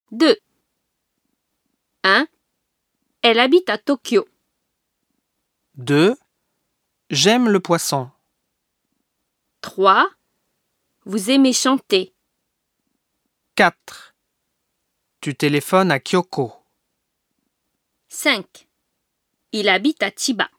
2. 1. Elle habite à Tokyo. 2. J'aime le poisson. 3. Vous aimez chanter. 4. Tu téléphones à Kyoko. 5. Il habite à Chiba.